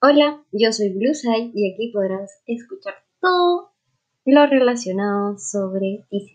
Hola, yo soy Blueseye y aquí podrás escuchar todo lo relacionado sobre Disney.